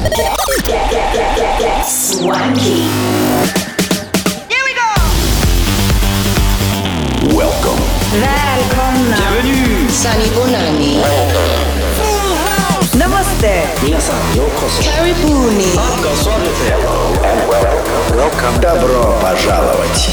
Swanky. Here we go! Welcome. Välkomna. Bienvenue. Sunny Bonani. Namaste. 皆さんようこそ。 Karibuni. Welcome. Добро пожаловать.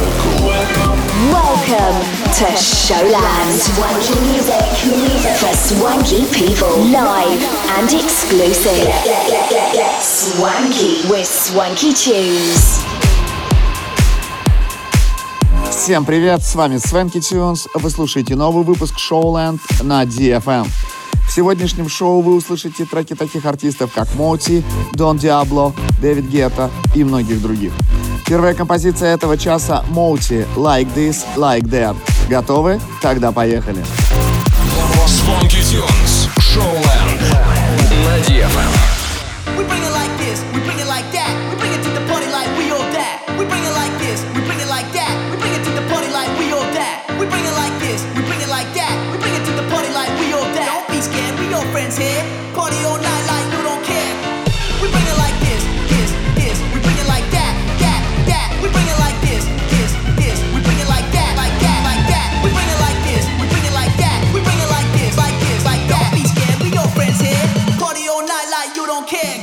Welcome to Showland. Swanky music for swanky people. Live and exclusive. Swanky with Swanky Tunes. Всем привет, с вами Swanky Tunes. Вы слушаете новый выпуск Showland на DFM. В сегодняшнем шоу вы услышите треки таких артистов, как Моти, Don Diablo, Дэвид Гетта и многих других. Первая композиция этого часа — Моти, Like This, Like That. Готовы? Тогда поехали. Swanky Tunes, Showland на DFM. We bring it like this, we bring it like that. We bring it to the party like we all that. We bring it like this, we bring it like that. We bring it to the party like we all that. We bring it like this, we bring it like that. We bring it to the party like we all that. Don't be scared, we all friends here. Party all night like you don't care. We bring it like this, this, this. We bring it like that, that, that. We bring it like this, this, this. We bring it like that, like that, like that. We bring it like this, we bring it like that. We bring it like this, like this, like that. Don't be scared, we all friends here. Party all night like you don't care.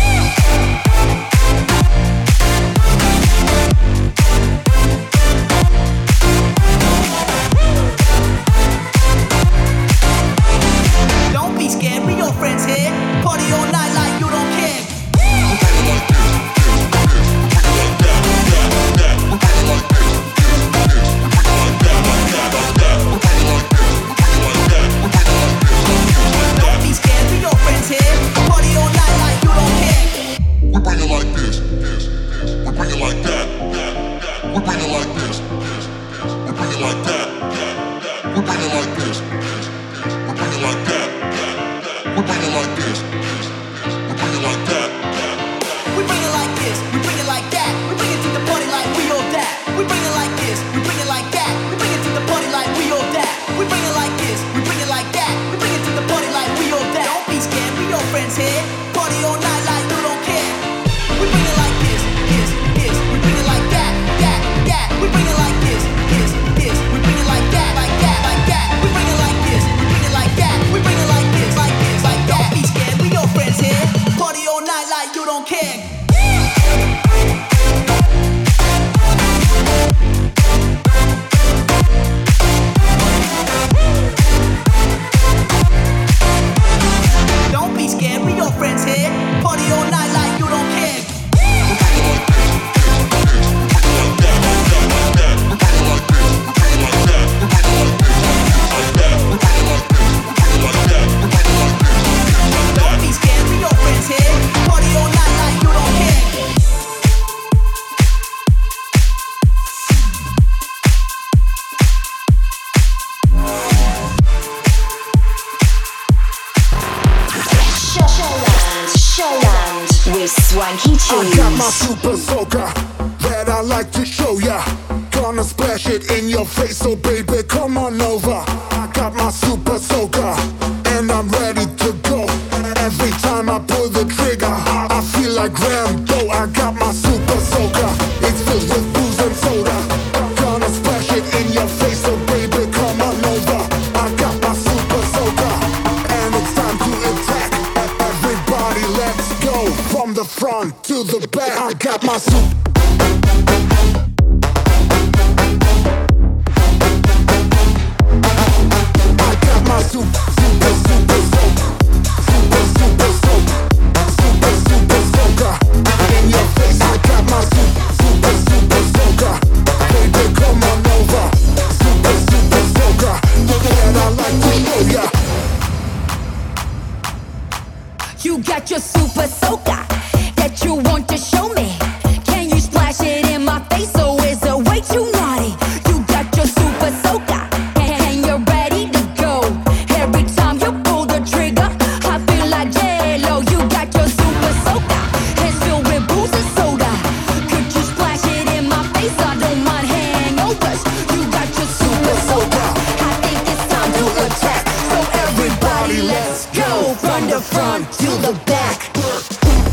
Don't be scared, we your friends here. Party all night like you don't care. Don't be scared, we your friends here. Party all night like you don't care. We bring it like this, we bring it like that, we bring it like this, we bring it like that, we bring it like this, we bring it like that, we bring it like this, we bring it like that. We bring it like this, we bring it like that. We bring it to the party like we all that. We bring it like this, we bring it like that. We bring it to the party like we all that. We bring it like this, we bring it like that. We bring it to the party like we all that. Don't be scared, we your friends here. Party all night like you don't care. We bring it like this, this, this. We bring it like that, that, that. We bring it like this, this, this. We bring it like that, like that, like that. We bring it like this, we bring it like that. We bring it like this, like this, like that. Don't be scared, we your friends here. Party all night like you don't care. Don't be scared, we your friends here. Party all night like you don't care. Don't be scared, we your friends here. Party all night like you don't care. Showland with Swanky I got my Tunes. super soaker that I like to show ya. Gonna splash it in your face, so baby, come on over. I got my super soaker and I'm ready to go. Every time I pull the trigger, I feel like Rambo. I got my super soaker, it's filled with booze and soda. Gonna splash it in your face, so baby, come on over. I got my super soaker and it's time to attack. Everybody, let's go from the front to the back. I got my super. I got my super, super, super soaker. Super, super soaker. Super, super soaker. In your face, I got my super, super, super soaker. Baby, come on over. Super, super soaker. That I like to show ya. You got your super soaker that you want to show me. Can you splash it in my face or is it way too naughty? You got your super soaker and you're ready to go. Every time you pull the trigger, I feel like J-Lo. You got your super soaker, it's filled with booze and soda. Could you splash it in my face? I don't mind hangovers. You got your super soaker, I think it's time to attack. So everybody, let's go from the front to the back.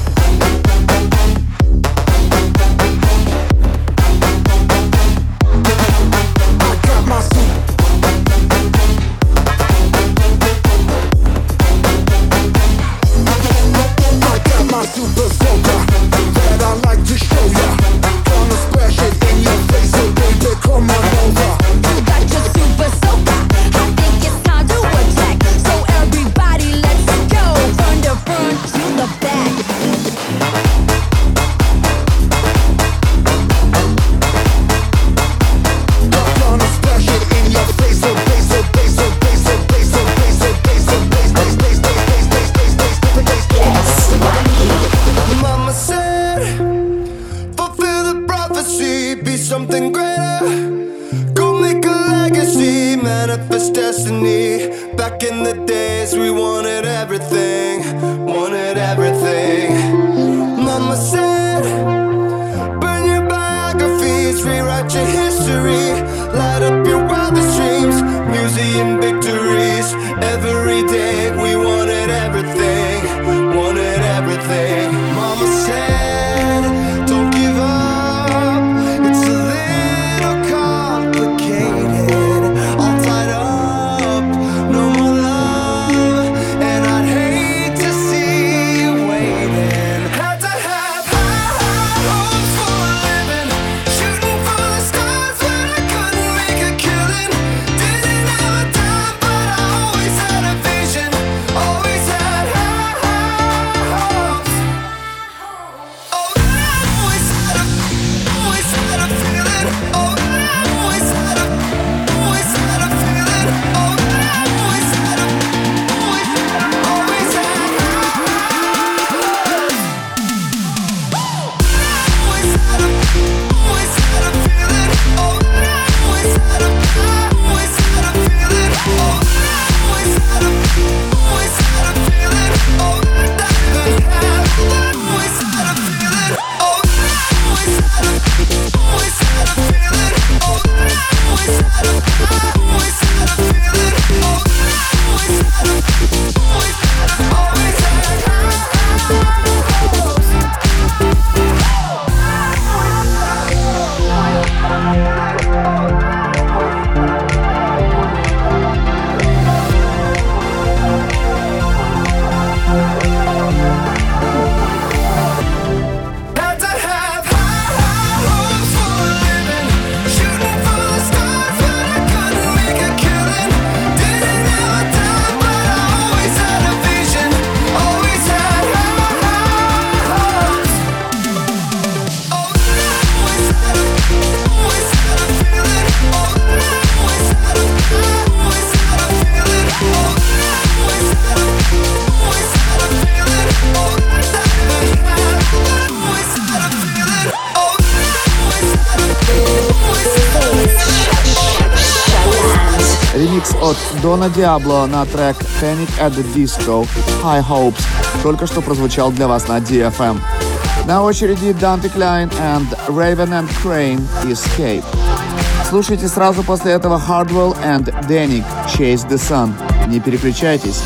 Donna Diablo на трек Panic at the Disco High Hopes только что прозвучал для вас на DFM. На очереди Dante Klein and Raven and Crane Escape. Слушайте сразу после этого Hardwell and Danik Chase the Sun. Не переключайтесь.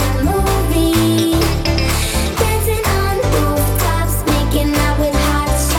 Dancing on rooftops, making out with hearts.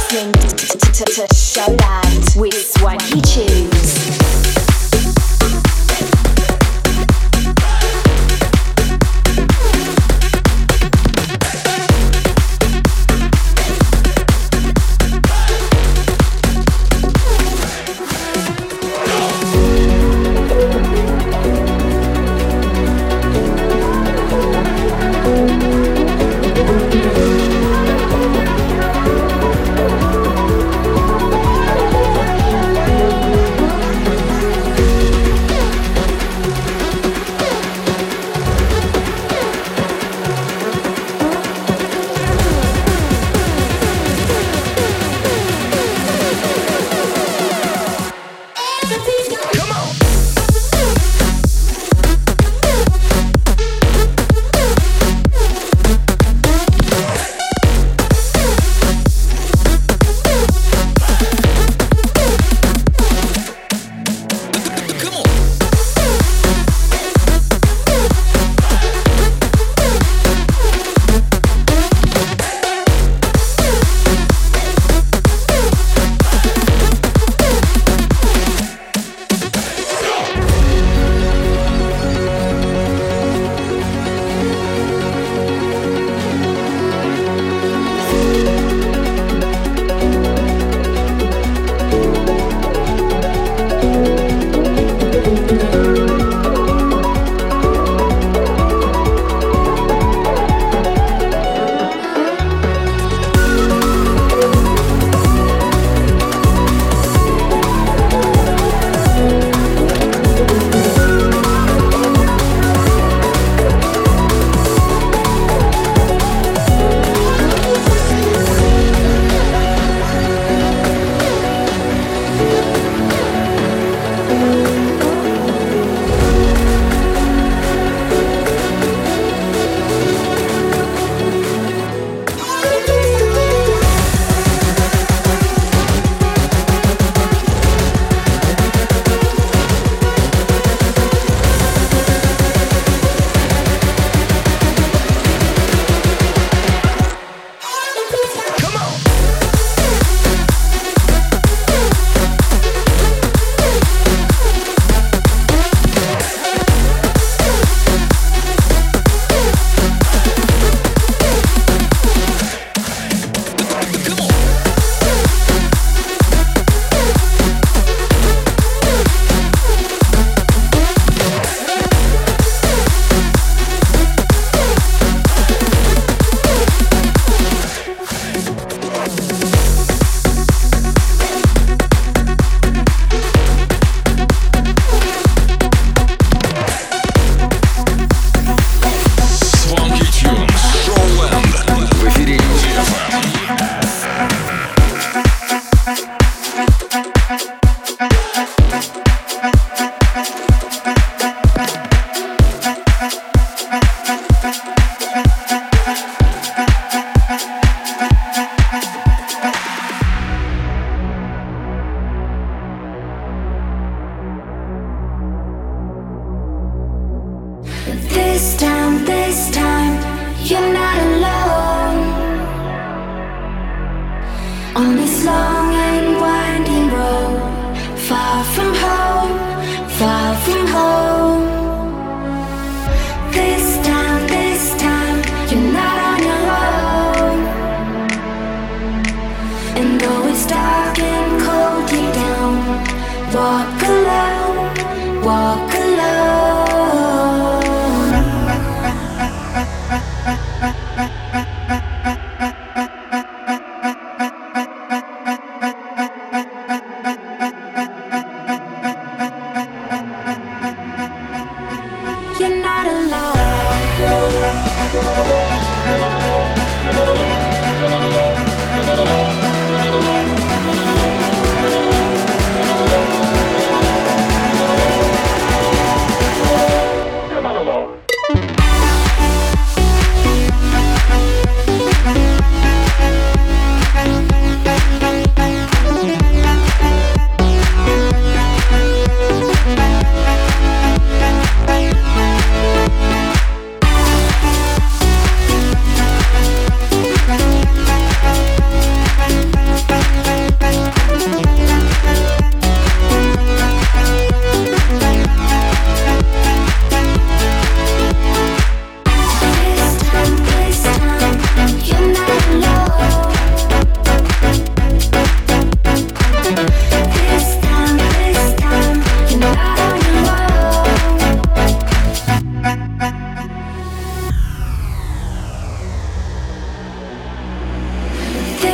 listening to Showland with Swanky Tunes. This time, you're not alone on this long and winding road, far from home, far from home. This time, you're not on your own. And though it's dark and cold deep down, walk alone, walk alone.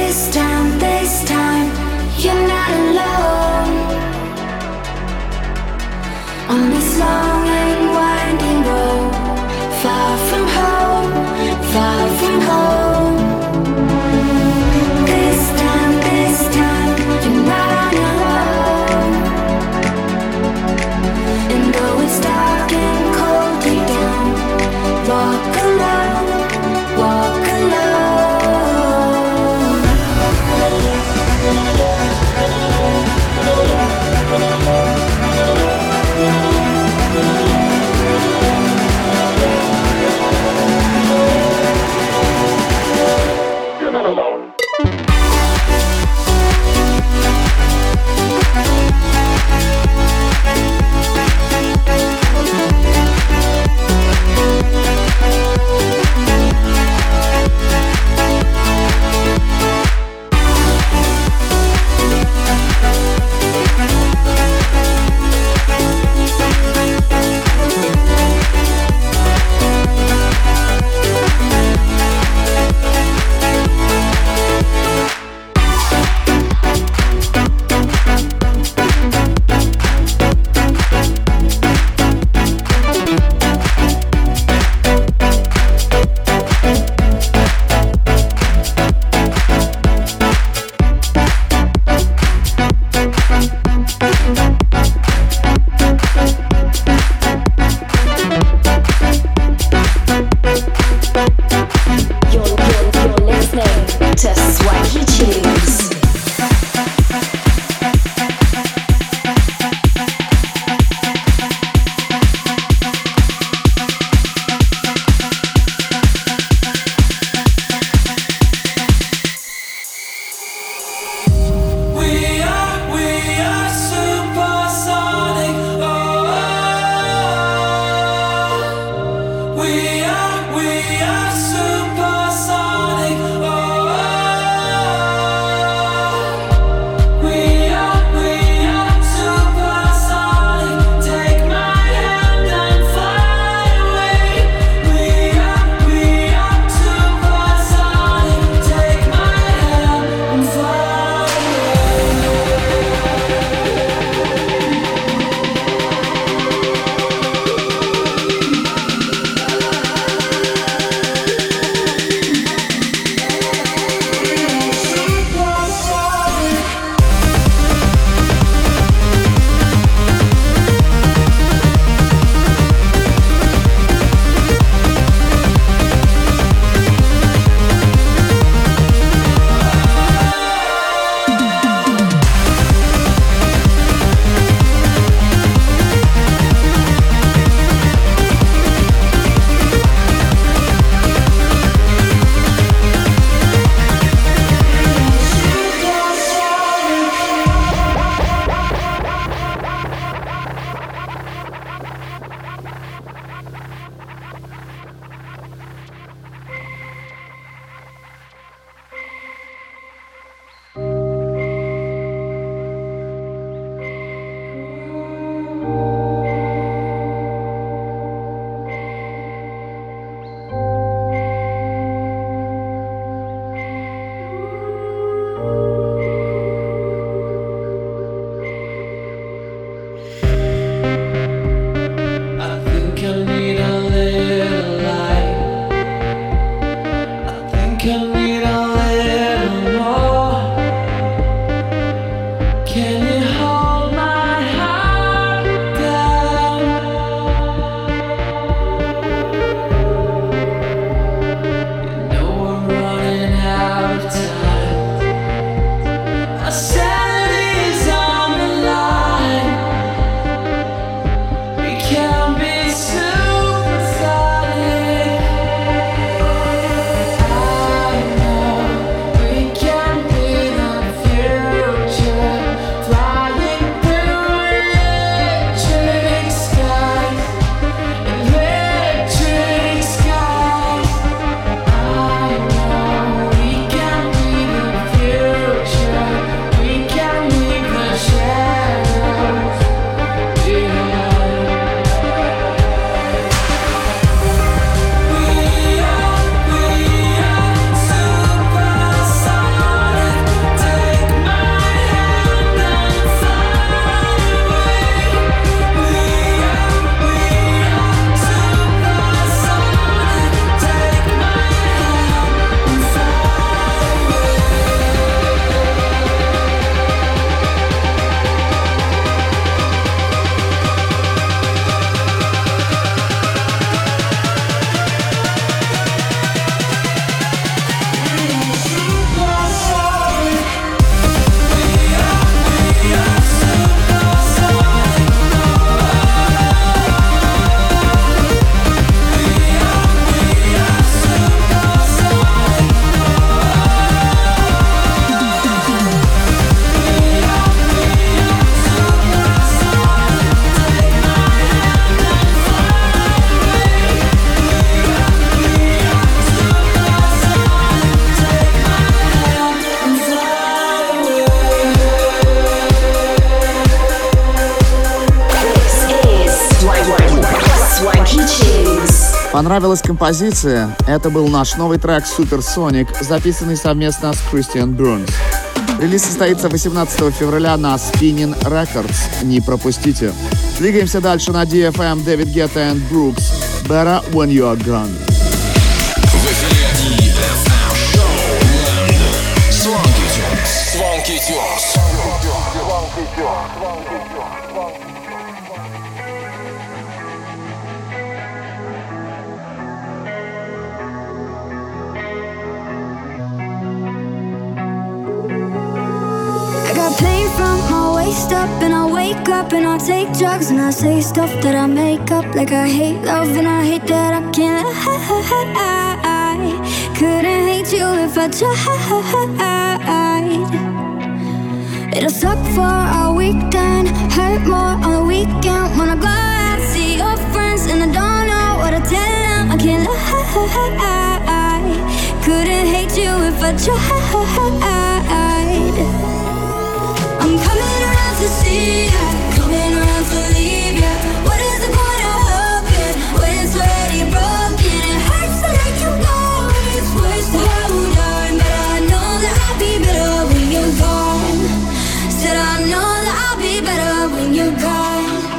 This time, you're not alone on this long and winding road, far from home, far from home. This time, you're not on your own. And though it's dark and cold deep down, walk alone, walk alone. You're not alone. We are supersonic. Oh, oh, oh. Понравилась композиция? Это был наш новый трек Supersonic, записанный совместно с Christian Burns. Релиз состоится 18 февраля на Spinning Records. Не пропустите. Двигаемся дальше на DFM. Дэвид Гетта и Brooks. Better When You Are Gone. В эфире DFM Showland. Swanky Tunes. Swanky Tunes. Pain from my waist up, and I wake up and I take drugs and I say stuff that I make up, like I hate love and I hate that I can't lie. Couldn't hate you if I tried. It'll suck for a weekend, hurt more on the weekend. When I go out, see your friends and I don't know what to tell them. I can't lie. Couldn't hate you if I tried. I'm coming around to see ya, coming around to leave ya. What is the point of hoping when it's already broken? It hurts to let you go, it's worse to hold on. But I know that I'll be better when you're gone. Said I know that I'll be better when you're gone.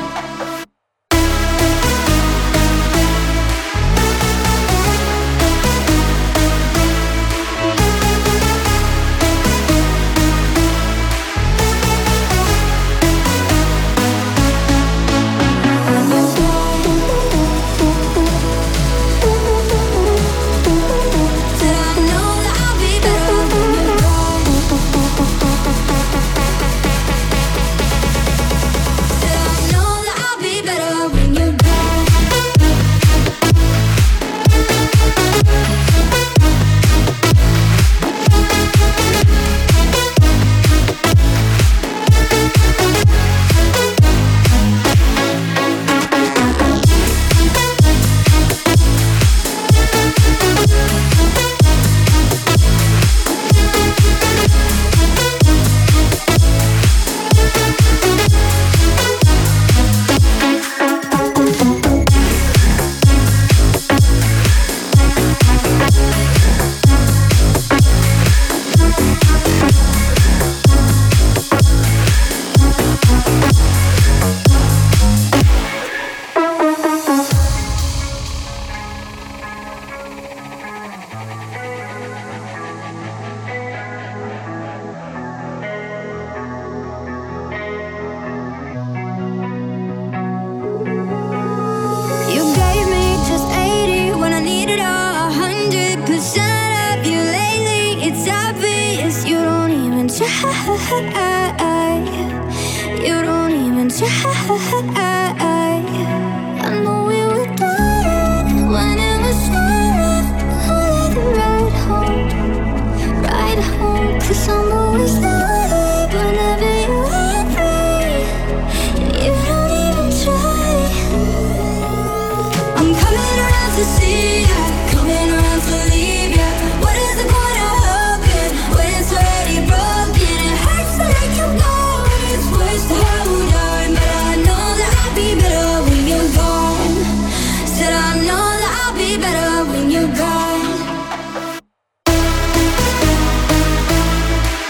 You don't even try. I know we were done when it was done. I'll let it ride home, 'cause I'm always there whenever you want me. You don't even try. I'm coming around to see ya, coming around to leave ya. What is the point of hoping when it's already broken? It hurts to let you go, it's worse to hold on. But I know that I'll be better when you're gone. Said I know that I'll be better when you're gone.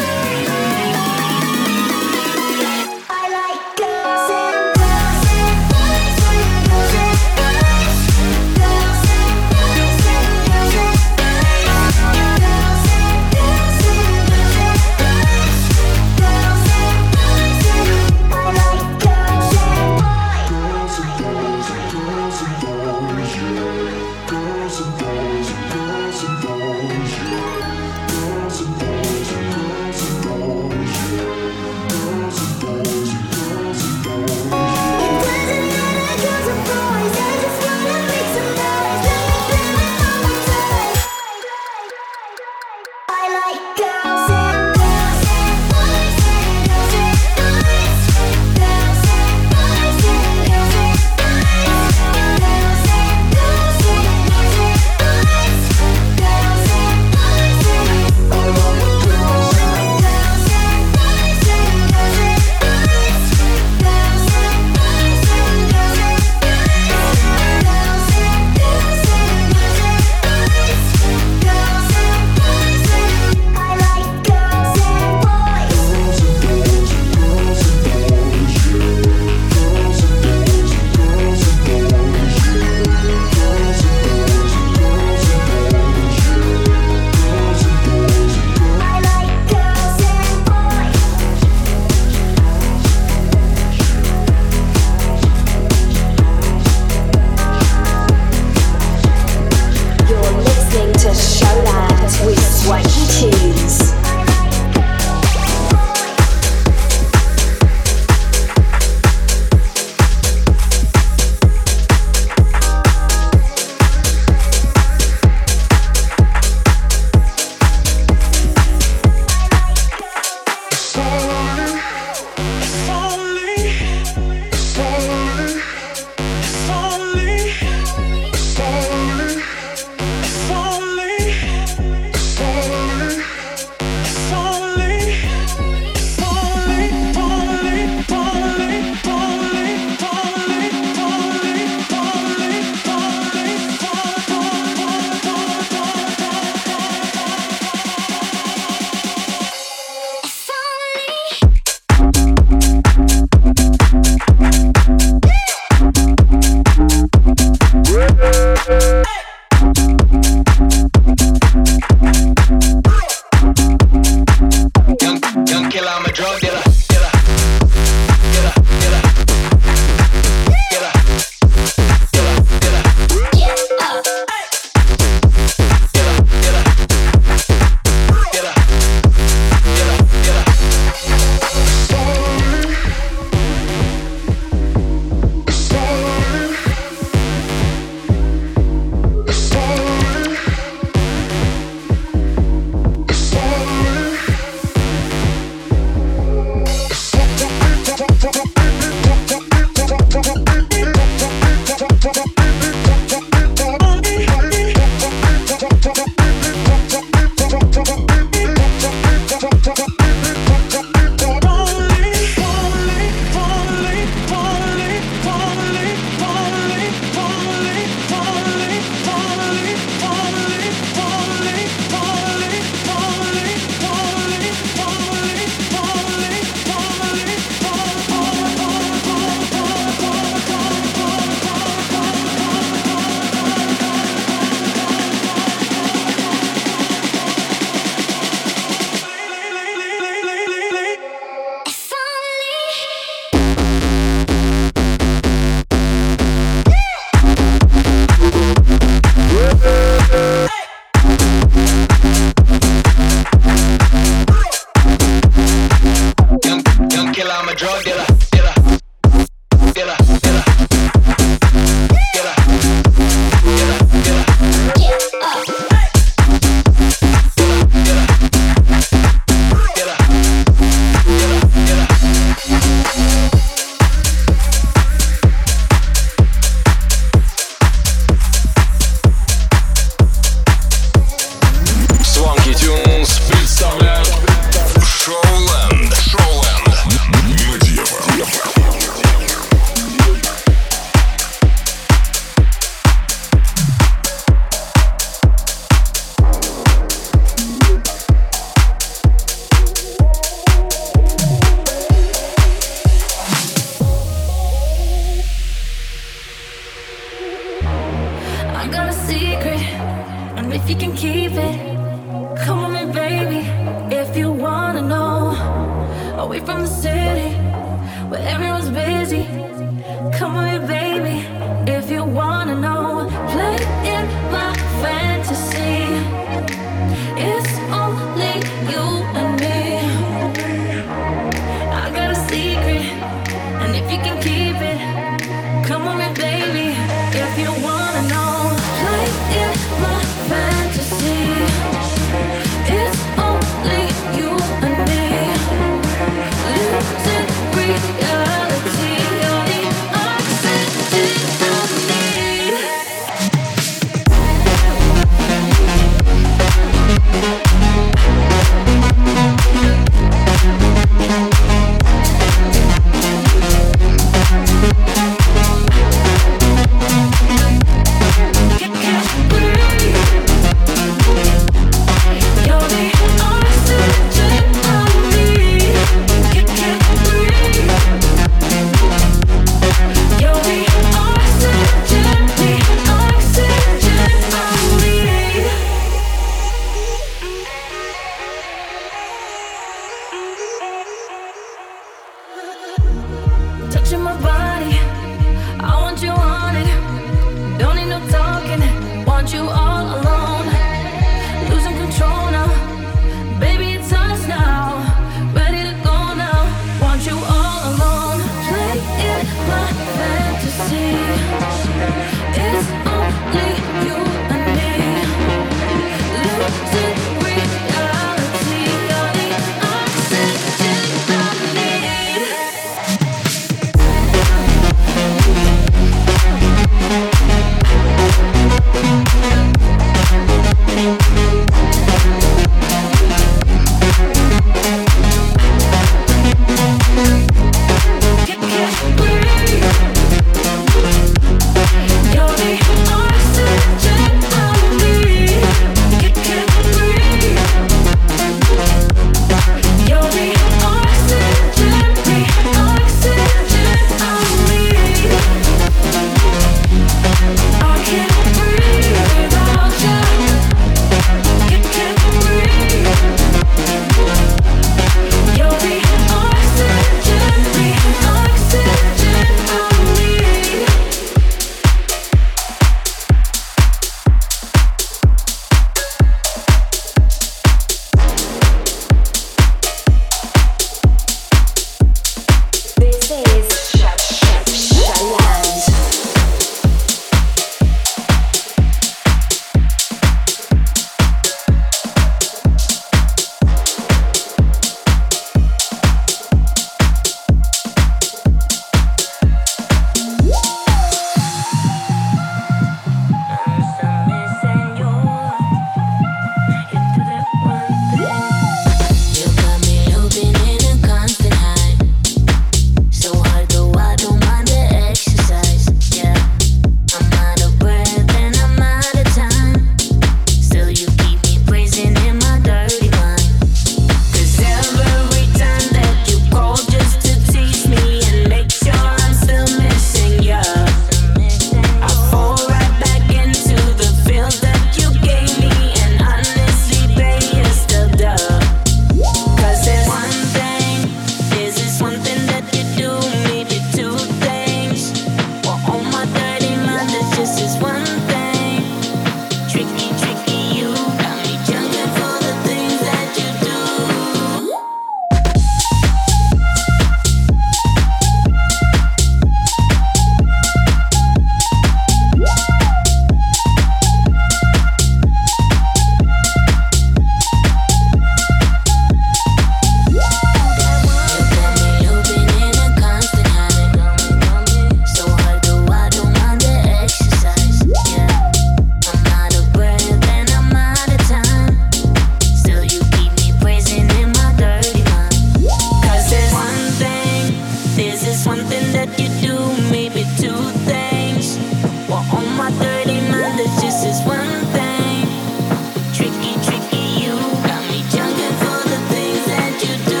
one thing that you do, maybe two things. Well, on my dirty mind, there's just this one thing. Tricky, tricky, you got me junking for the things that you do.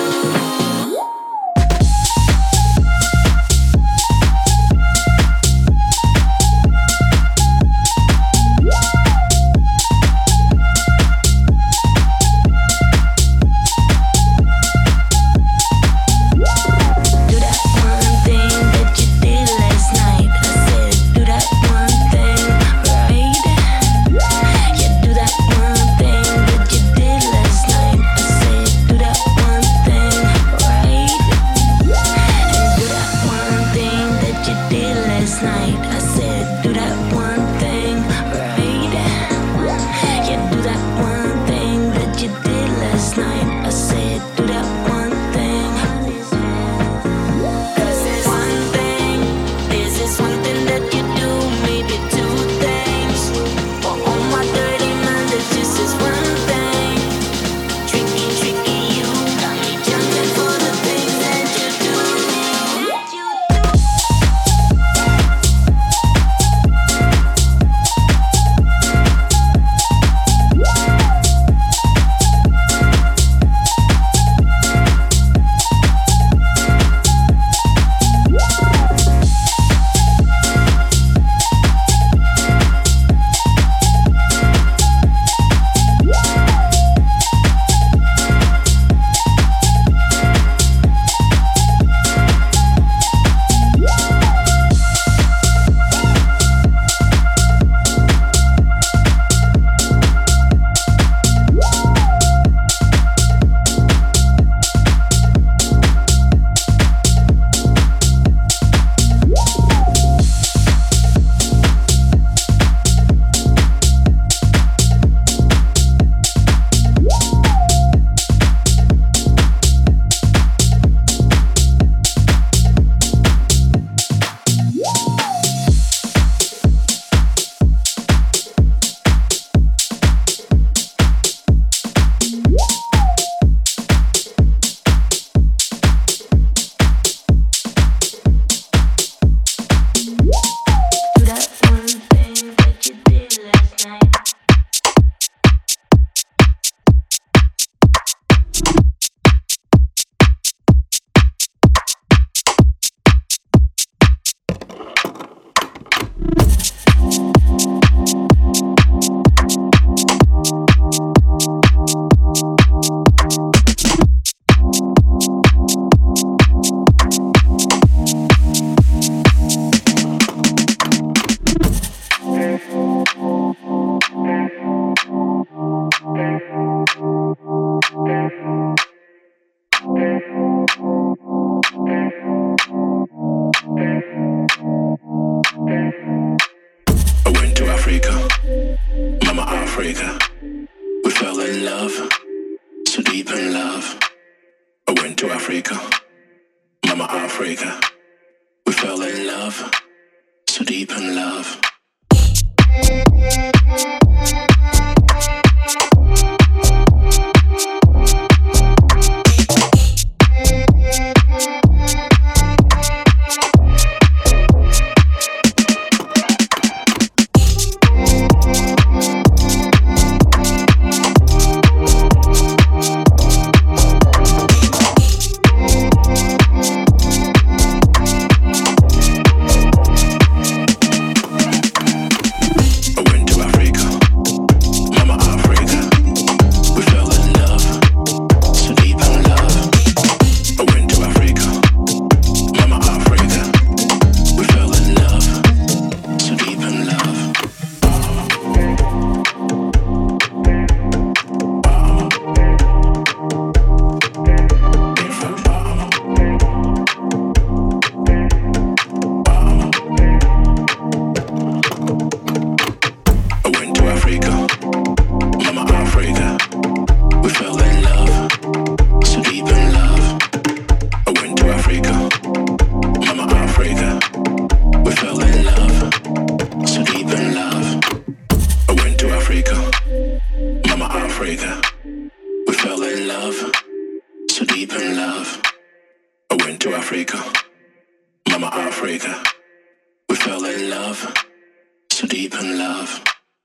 Mama Africa. We fell in love, so deep in love.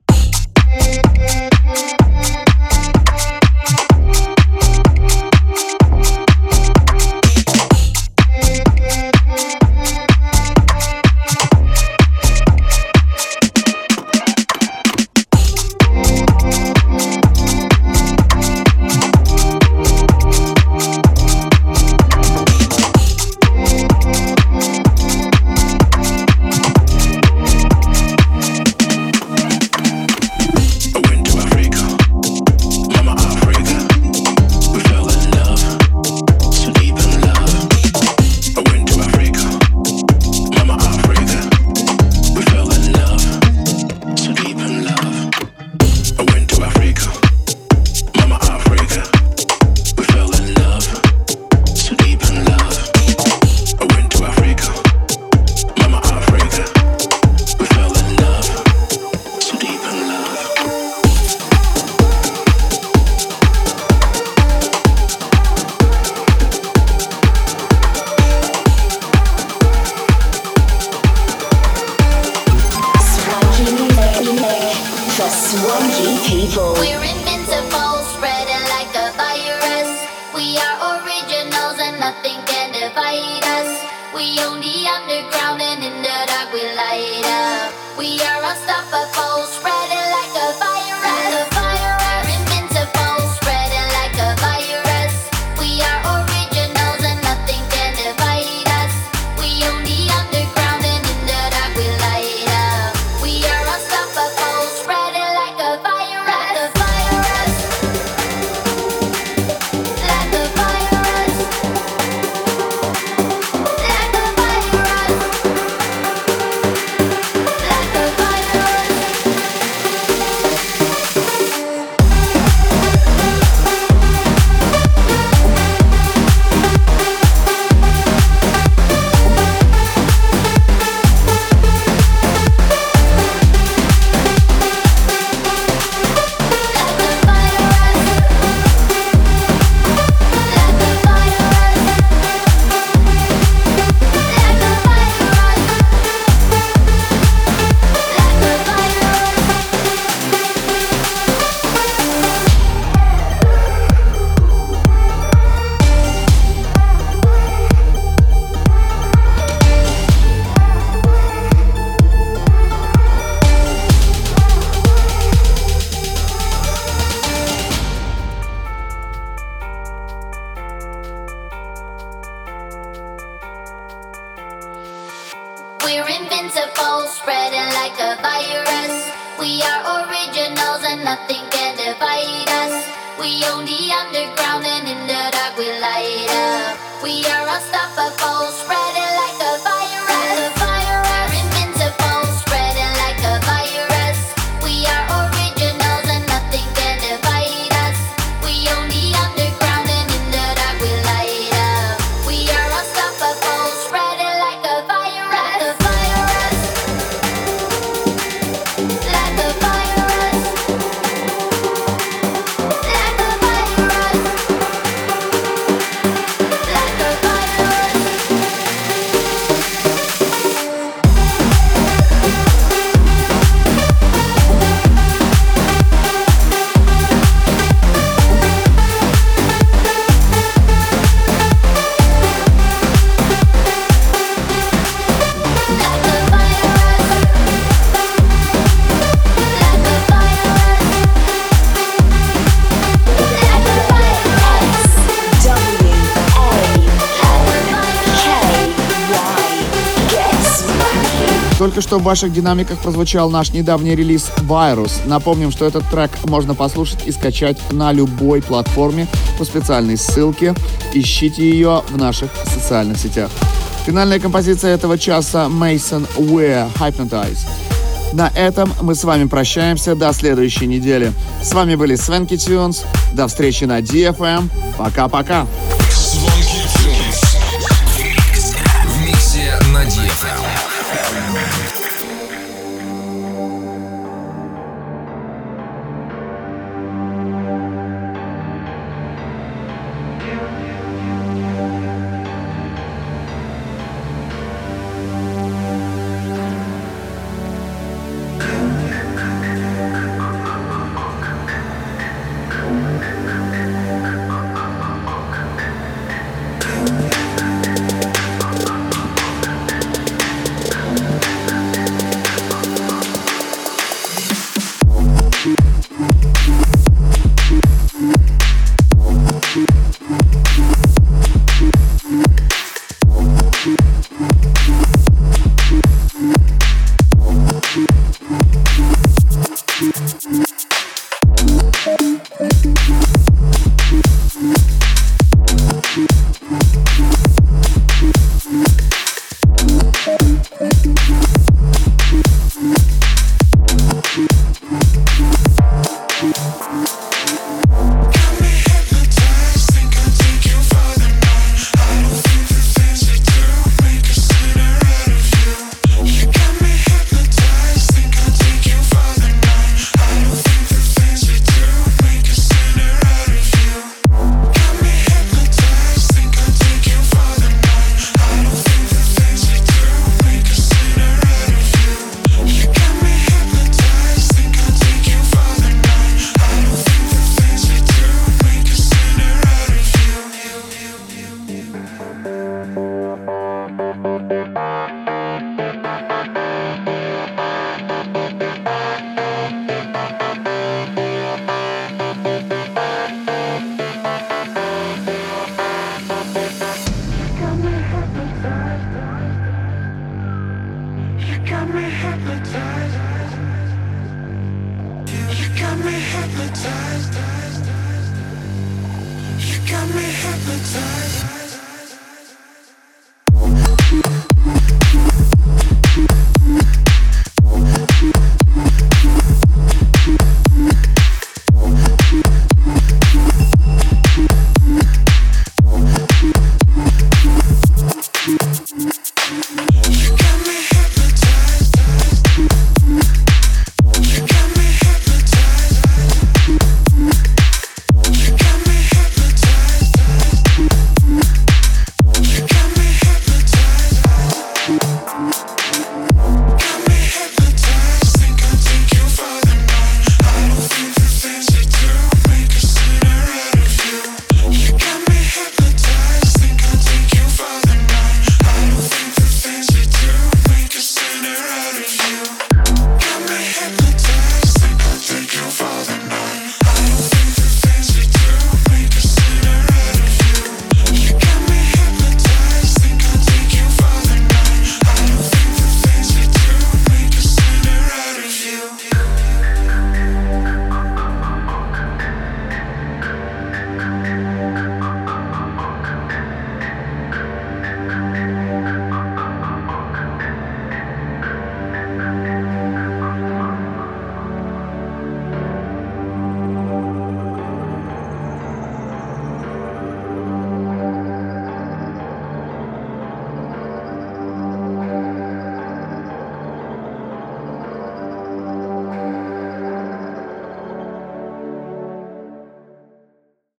We're invincible, spreading like a virus. We are originals and nothing can divide us. We own the underground and in the dark we light up. We are unstoppable, spreading like a virus. We're invincible, spreading like a virus. We are originals and nothing can divide us. We own the underground and in the dark we light up. We are unstoppable, spreading like a virus. Только что в ваших динамиках прозвучал наш недавний релиз «Virus». Напомним, что этот трек можно послушать и скачать на любой платформе по специальной ссылке. Ищите ее в наших социальных сетях. Финальная композиция этого часа Mason Weir «Hypnotize». На этом мы с вами прощаемся до следующей недели. С вами были Свенки Тюнс. До встречи на DFM. Пока-пока. Звонки Тюнс. В миксе на DFM. hypnotized.